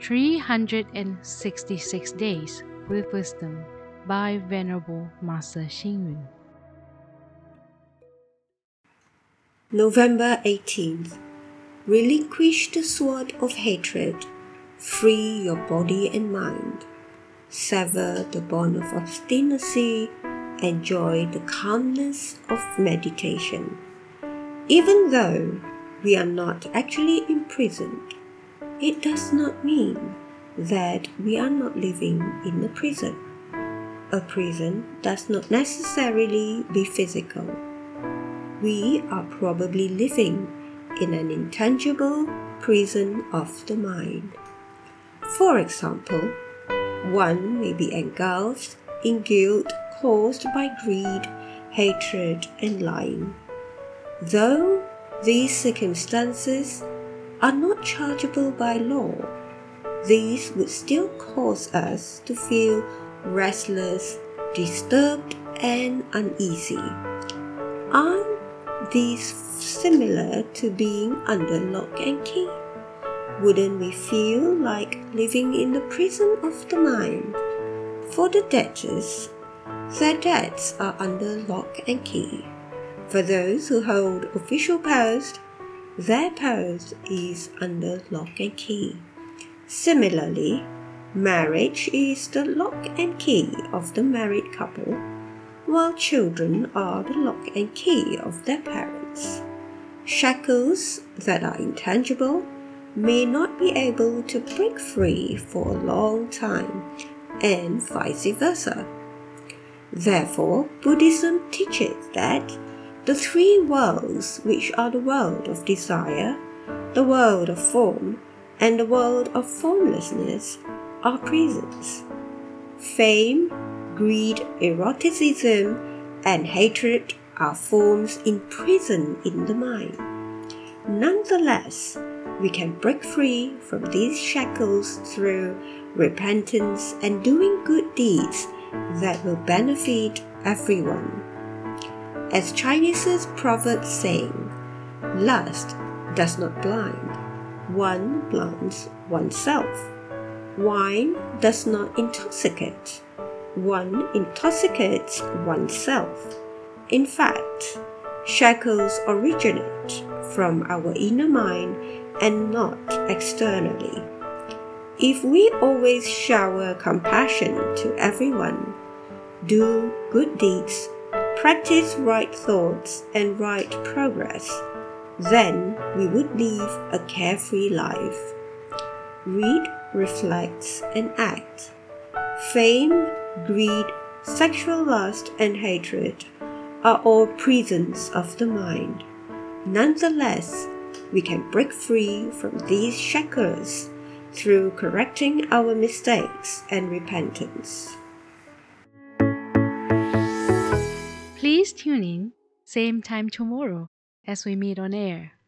366 Days with Wisdom by Venerable Master Xing Yun. November 18th. Relinquish the sword of hatred. Free your body and mind. Sever the bond of obstinacy. Enjoy the calmness of meditation. Even though we are not actually imprisoned, it does not mean that we are not living in a prison. A prison does not necessarily be physical. We are probably living in an intangible prison of the mind. For example, one may be engulfed in guilt caused by greed, hatred, and lying. Though these circumstances are not chargeable by law, these would still cause us to feel restless, disturbed, and uneasy. Aren't these similar to being under lock and key? Wouldn't we feel like living in the prison of the mind? For the debtors, their debts are under lock and key. For those who hold official posts, their post is under lock and key. Similarly, marriage is the lock and key of the married couple, while children are the lock and key of their parents. Shackles that are intangible may not be able to break free for a long time, and vice versa. Therefore, Buddhism teaches that the three worlds, which are the world of desire, the world of form, and the world of formlessness, are prisons. Fame, greed, eroticism, and hatred are forms imprisoned in the mind. Nonetheless, we can break free from these shackles through repentance and doing good deeds that will benefit everyone. As Chinese proverb saying, lust does not blind, one blinds oneself. Wine does not intoxicate, one intoxicates oneself. In fact, shackles originate from our inner mind and not externally. If we always shower compassion to everyone, do good deeds, practice right thoughts and right progress, then we would live a carefree life. Read, reflect, and act. Fame, greed, sexual lust, and hatred are all prisons of the mind. Nonetheless, we can break free from these shackles through correcting our mistakes and repentance. Please tune in, same time tomorrow as we meet on air.